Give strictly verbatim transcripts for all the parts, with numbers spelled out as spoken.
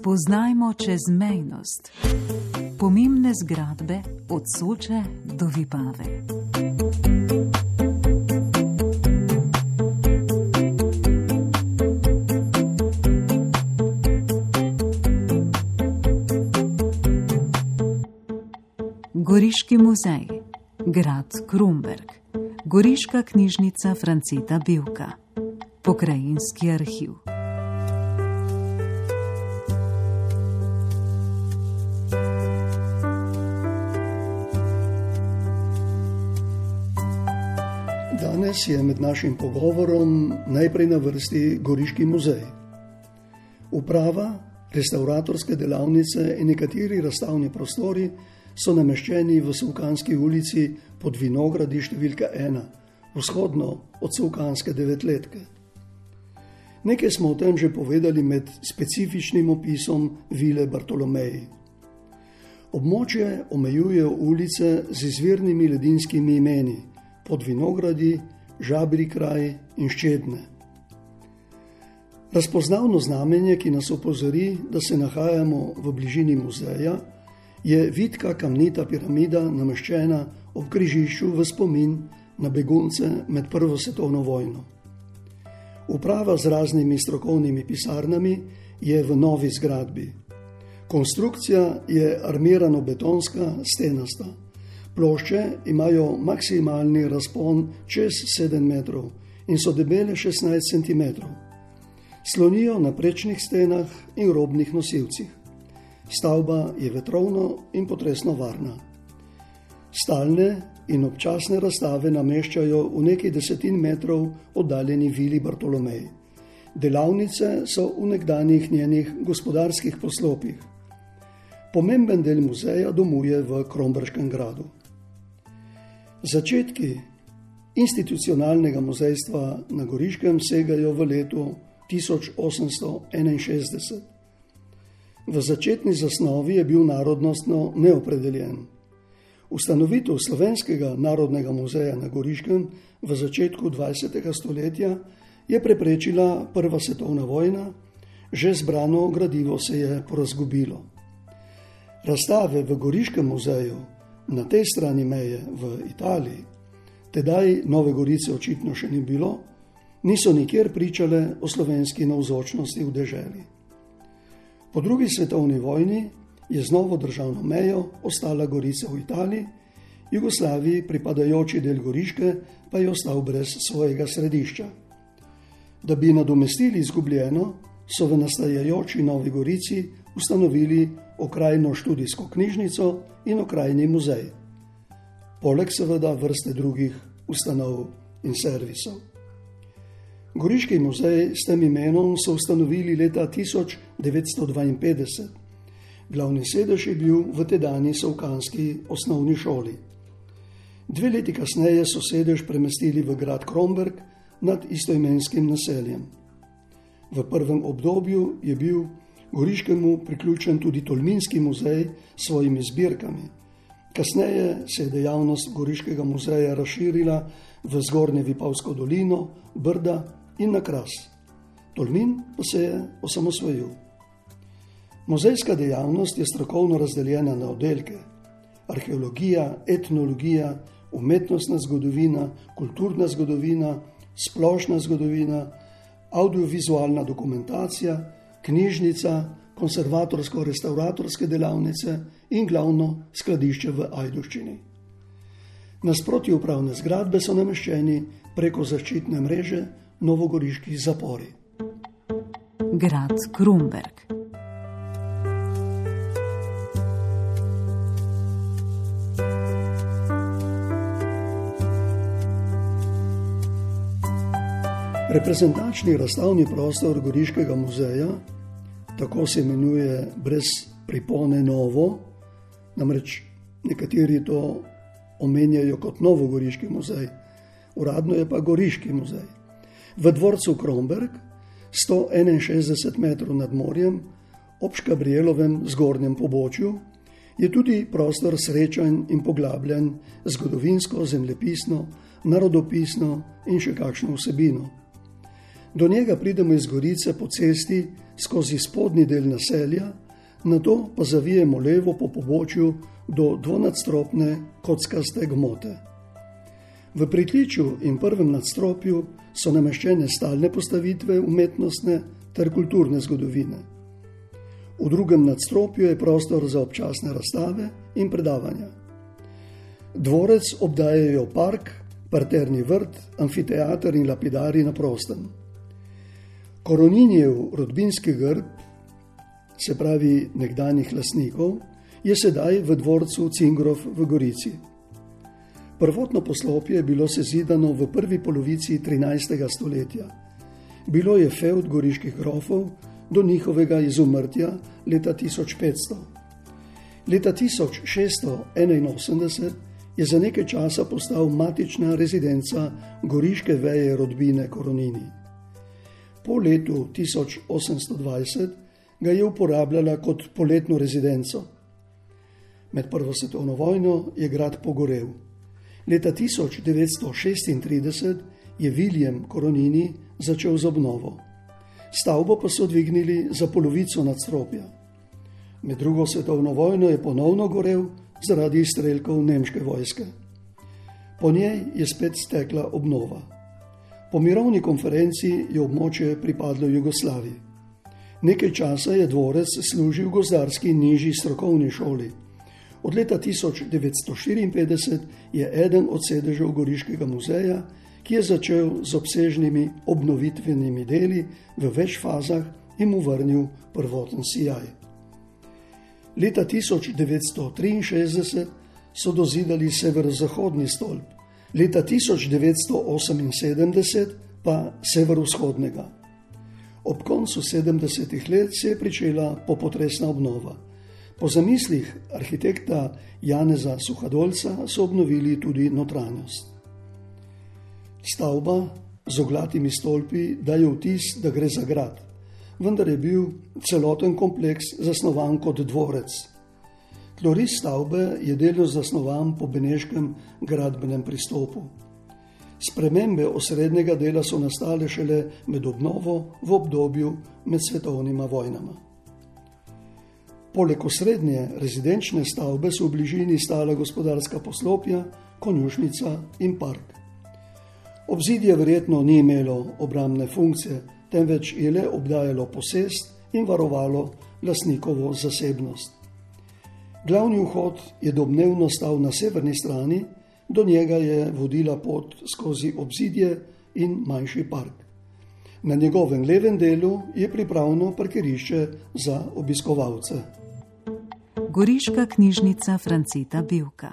Spoznajmo čezmejnost. Pomembne zgradbe od Soče do Vipave. Goriški muzej, grad Krumberk, Goriška knjižnica Franceta Bevka, Pokrajinski arhiv. Danes je med našim pogovorom najprej na vrsti Goriški muzej. Uprava, restavratorske delavnice in nekateri razstavni prostori so nameščeni v Savkanski ulici pod vinogradi številka ena, vzhodno od Savkanske devetletke. Nekaj smo o tem že povedali med specifičnim opisom vile Bartolomeji. Območje omejujejo ulice z izvirnimi ledinskimi imeni, pod vinogradi, Žabri kraj in Ščedne. Razpoznavno znamenje, ki nas opozori, da se nahajamo v bližini muzeja, je vitka kamnita piramida nameščena ob križišču v spomin na begunce med prvo svetovno vojno. Uprava z raznimi strokovnimi pisarnami je v novi zgradbi. Konstrukcija je armirano-betonska, stenasta. Plošče imajo maksimalni razpon čez sedem metrov in so debele šestnajst centimetrov. Slonijo na prečnih stenah in robnih nosilcih. Stavba je vetrovno in potresno varna. Stalne in občasne razstave nameščajo v nekaj desetin metrov oddaljeni vili Bartolomej. Delavnice so v nekdanjih njenih gospodarskih poslopjih. Pomemben del muzeja domuje v Kromberškem gradu. Začetki institucionalnega muzejstva na Goriškem segajo v letu tisoč osemsto enainšestdeset. V začetni zasnovi je bil narodnostno neopredeljen. Ustanovitev Slovenskega narodnega muzeja na Goriškem v začetku dvajsetega stoletja je preprečila prva svetovna vojna, že zbrano gradivo se je porazgubilo. Razstave v Goriškem muzeju na tej strani meje v Italiji, tedaj Nove Gorice očitno še ni bilo, niso nikjer pričale o slovenski navzočnosti v deželi. Po drugi svetovni vojni je z novo državno mejo ostala Gorica v Italiji, Jugoslaviji pripadajoči del Goriške pa je ostal brez svojega središča. Da bi nadomestili izgubljeno, so v nastajajoči Novi Gorici ustanovili okrajno študijsko knjižnico in okrajni muzej, poleg seveda vrste drugih ustanov in servisov. Goriški muzej s tem imenom so ustanovili leta tisoč devetsto dvainpetdeset. Glavni sedež je bil v tedanji savkanski osnovni šoli. Dve leti kasneje so sedež premestili v grad Kromberk nad istoimenskim naseljem. V prvem obdobju je bil Goriškemu priključen tudi Tolminski muzej s svojimi zbirkami. Kasneje se je dejavnost Goriškega muzeja razširila v Zgornje Vipavsko dolino, Brda in na Kras. Tolmin pa se je osamosvojil. Muzejska dejavnost je strokovno razdeljena na oddelke: arheologija, etnologija, umetnostna zgodovina, kulturna zgodovina, splošna zgodovina, audiovizualna dokumentacija, knjižnica, konservatorsko-restavratorske delavnice in glavno skladišče v Ajdovščini. Nasproti upravne zgradbe so nameščeni preko zaščitne mreže novogoriški zapori. Grad Krumberk. Reprezentančni razstavni prostor Goriškega muzeja, tako se imenuje brez pripone novo, namreč nekateri to omenjajo kot Novogoriški muzej, uradno je pa Goriški muzej. V dvorcu Kromberk, sto enainšestdeset metrov nad morjem, ob Škabrielovem zgornjem pobočju, je tudi prostor srečanj in poglabljanj zgodovinsko, zemljepisno, narodopisno in še kakšno vsebino. Do njega pridemo iz Gorice po cesti skozi spodnji del naselja, nato pa zavijemo levo po pobočju do dvonadstropne kockaste gmote. V pritličju in prvem nadstropju so nameščene stalne postavitve umetnostne ter kulturne zgodovine. V drugem nadstropju je prostor za občasne razstave in predavanja. Dvorec obdajajo park, parterni vrt, amfiteater in lapidari na prostem. Koroninjev rodbinski grb, se pravi nekdanjih lastnikov, je sedaj v dvorcu Cingrov v Gorici. Prvotno poslopje je bilo sezidano v prvi polovici trinajstega stoletja. Bilo je fevd goriških grofov do njihovega izumrtja leta tisoč petsto. Leta tisoč šeststo enainosemdeset je za nekaj časa postal matična rezidenca goriške veje rodbine Koronini. Po letu tisoč osemsto dvajset ga je uporabljala kot poletno rezidenco. Med prvo svetovno vojno je grad pogorel. Leta tisoč devetsto šestintrideset je William Koronini začel z obnovo. Stavbo pa so dvignili za polovico nadstropja. Med drugo svetovno vojno je ponovno gorel zaradi izstrelkov nemške vojske. Po njej je spet stekla obnova. Po mirovni konferenci je območje pripadlo Jugoslaviji. Nekaj časa je dvorec služil gozdarski nižji strokovni šoli. Od leta tisoč devetsto štiriinpetdeset je eden od sedežev Goriškega muzeja, ki je začel z obsežnimi obnovitvenimi deli v več fazah in mu vrnil prvoten sijaj. Leta tisoč devetsto triinšestdeset so dozidali severozahodni stolp, leta tisoč devetsto oseminsedemdeset pa severovzhodnega. Ob koncu sedemdesetih let se je pričela popotresna obnova. Po zamislih arhitekta Janeza Suhadolca so obnovili tudi notranjost. Stavba z oglatimi stolpi daje vtis, da gre za grad, vendar je bil celoten kompleks zasnovan kot dvorec. Tloris stavbe je delno zasnovan po beneškem gradbenem pristopu. Spremembe osrednjega dela so nastale šele med obnovo v obdobju med svetovnima vojnama. Poleg osrednje rezidenčne stavbe so v bližini stala gospodarska poslopja, konjušnica in park. Obzidje verjetno ni imelo obrambne funkcije, temveč je le obdajalo posest in varovalo lastnikovo zasebnost. Glavni vhod je domnevno stal na severni strani, do njega je vodila pot skozi obzidje in manjši park. Na njegovem levem delu je pripravno parkirišče za obiskovalce. Goriška knjižnica Franceta Bevka.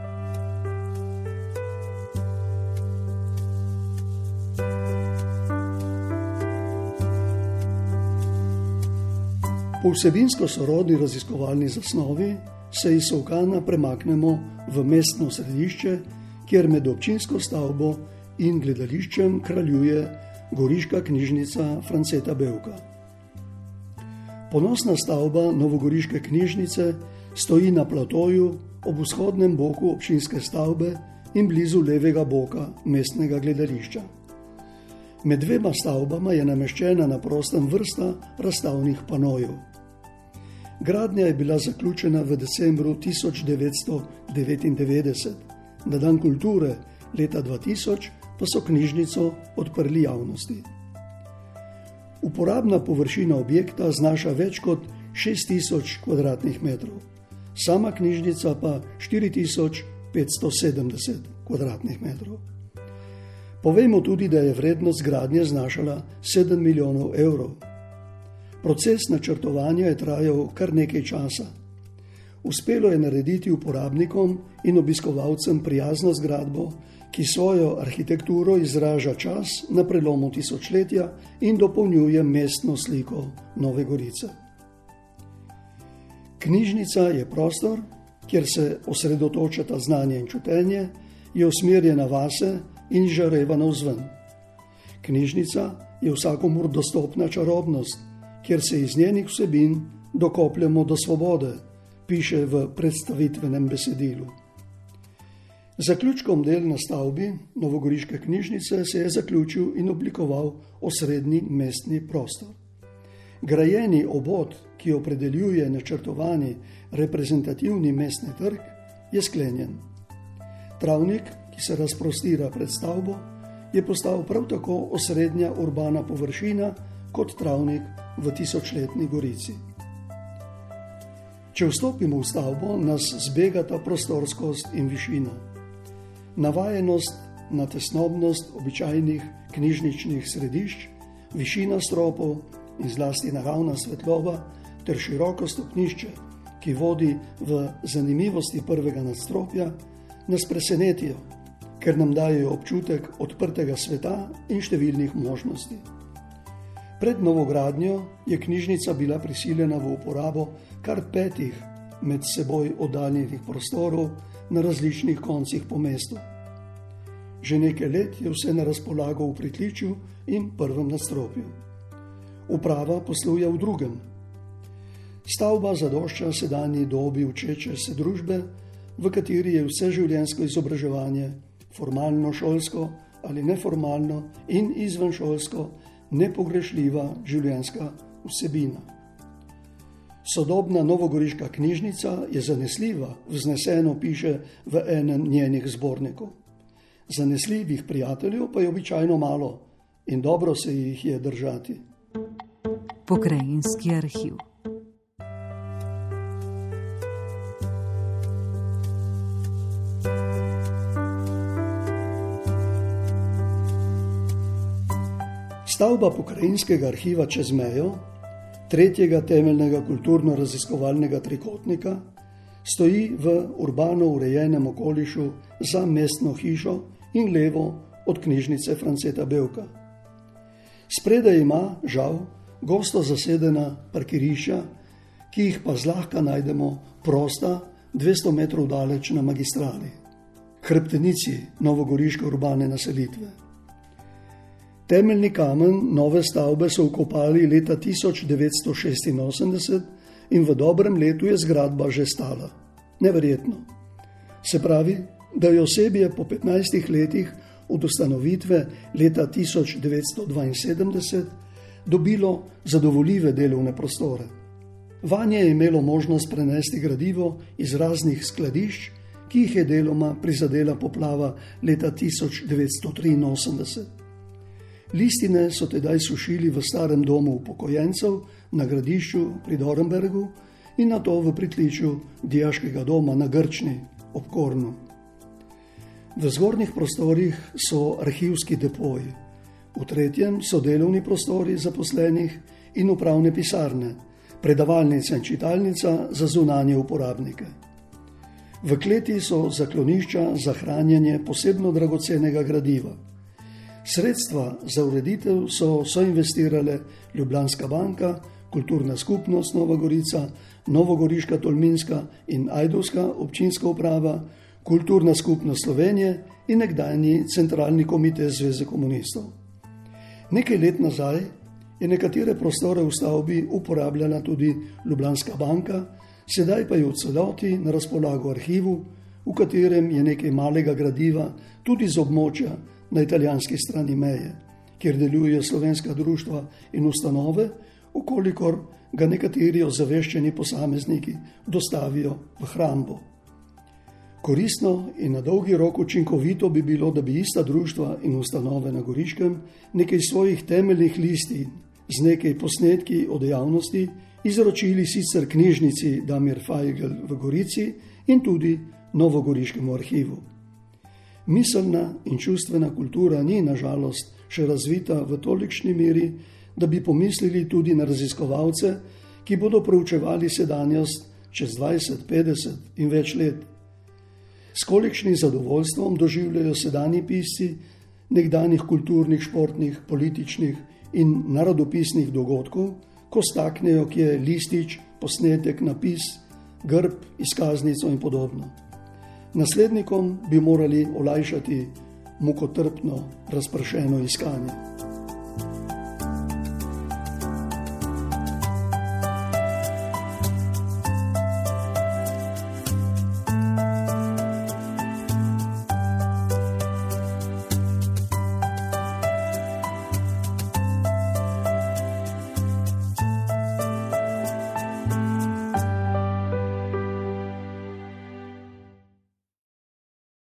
Po vsebinsko sorodni raziskovalni zasnovi se iz Solkana premaknemo v mestno središče, kjer med občinsko stavbo in gledališčem kraljuje Goriška knjižnica Franceta Bevka. Ponosna stavba novogoriške knjižnice stoji na platoju ob vzhodnem boku občinske stavbe in blizu levega boka mestnega gledališča. Med dvema stavbama je nameščena na prostem vrsta razstavnih panojev. Gradnja je bila zaključena v decembru tisoč devetsto devetindevetdeset, na dan kulture leta dva tisoč pa so knjižnico odprli javnosti. Uporabna površina objekta znaša več kot šest tisoč kvadratnih metrov, sama knjižnica pa štiri tisoč petsto sedemdeset kvadratnih metrov. Povejmo tudi, da je vrednost gradnje znašala sedem milijonov evrov. Proces načrtovanja je trajal kar nekaj časa. Uspelo je narediti uporabnikom in obiskovalcem prijazno zgradbo, ki svojo arhitekturo izraža čas na prelomu tisočletja in dopolnjuje mestno sliko Nove Gorice. Knjižnica je prostor, kjer se osredotočata znanje in čutenje, je usmerjena vase in žareva navzven. Knjižnica je vsakomur dostopna čarobnost, kjer se iz njenih vsebin dokopljamo do svobode, piše v predstavitvenem besedilu. Zaključkom del na stavbi novogoriške knjižnice se je zaključil in oblikoval osrednji mestni prostor. Grajeni obod, ki opredeljuje načrtovani reprezentativni mestni trg, je sklenjen. Travnik, ki se razprostira pred stavbo, je postal prav tako osrednja urbana površina kot travnik v tisočletni Gorici. Če vstopimo v stavbo, nas zbegata prostorskost in višina. Navajenost na tesnobnost običajnih knjižničnih središč, višina stropov in zlasti naravna svetloba ter široko stopnišče, ki vodi v zanimivosti prvega nadstropja, nas presenetijo, ker nam dajejo občutek odprtega sveta in številnih možnosti. Pred novogradnjo je knjižnica bila prisiljena v uporabo kar petih med seboj oddaljenih prostorov na različnih koncih po mestu. Že nekaj let je vse na razpolago v pritličju in prvem nadstropju. Uprava posluje v drugem. Stavba zadošča sedanji dobi učeče se družbe, v kateri je vseživljenjsko izobraževanje, formalno šolsko ali neformalno in izvenšolsko, nepogrešljiva življenjska vsebina. Sodobna novogoriška knjižnica je zanesljiva, vzneseno piše v enem njenih zbornikov. Zanesljivih prijateljev pa je običajno malo in dobro se jih je držati. Pokrajinski arhiv. Stavba Pokrajinskega arhiva čez mejo, tretjega temeljnega kulturno-raziskovalnega trikotnika, stoji v urbano urejenem okolišu za mestno hišo in levo od knjižnice Franceta Bevka. Spredaj ima, žal, gosto zasedena parkirišča, ki jih pa zlahka najdemo prosta dvesto metrov daleč na magistrali, hrbtenici novogoriške urbane naselitve. Temeljni kamen nove stavbe so vkopali leta tisoč devetsto šestinosemdeset in v dobrem letu je zgradba že stala. Neverjetno. Se pravi, da je osebje po petnajstih letih od ustanovitve leta tisoč devetsto dvainsedemdeset dobilo zadovoljive delovne prostore. Vanje je imelo možnost prenesti gradivo iz raznih skladišč, ki jih je deloma prizadela poplava leta tisoč devetsto triinosemdeset. Listine so tedaj sušili v starem domu upokojencev na Gradišču pri Dornbergu in nato v pritličju dijaškega doma na Grčni ob Kornu. V zgornjih prostorih so arhivski depoji, v tretjem so delovni prostori zaposlenih in upravne pisarne, predavalnica in čitalnica za zunanje uporabnike. V kleti so zaklonišča za hranjenje posebno dragocenega gradiva. Sredstva za ureditev so soinvestirale Ljubljanska banka, Kulturna skupnost Nova Gorica, Novogoriška Tolminska in Ajdovska občinska uprava, Kulturna skupnost Slovenije in nekdanji centralni komite Zveze komunistov. Nekaj let nazaj je nekatere prostore v stavbi uporabljala tudi Ljubljanska banka, sedaj pa je v celoti na razpolago arhivu, v katerem je nekaj malega gradiva tudi z območja na italijanski strani meje, kjer delujejo slovenska društva in ustanove, ukolikor ga nekateri ozaveščeni posamezniki dostavijo v hrambo. Koristno in na dolgi rok učinkovito bi bilo, da bi ista društva in ustanove na Goriškem nekaj svojih temeljnih listin z nekaj posnetki o dejavnosti izročili sicer knjižnici Damir Fajgl v Gorici in tudi Novogoriškemu arhivu. Miselna in čustvena kultura ni, nažalost, še razvita v tolikšni meri, da bi pomislili tudi na raziskovalce, ki bodo proučevali sedanjost čez dvajset, petdeset in več let. S kolikšnim zadovoljstvom doživljajo sedanji pisci nekdanjih kulturnih, športnih, političnih in narodopisnih dogodkov, ko staknejo kje listič, posnetek, napis, grb, izkaznico in podobno. Naslednikom bi morali olajšati mukotrpno razpršeno iskanje.